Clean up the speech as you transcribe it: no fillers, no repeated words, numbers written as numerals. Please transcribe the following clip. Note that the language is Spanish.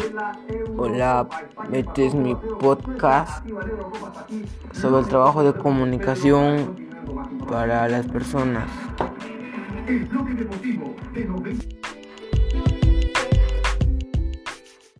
Hola, este es mi podcast sobre el trabajo de comunicación para las personas.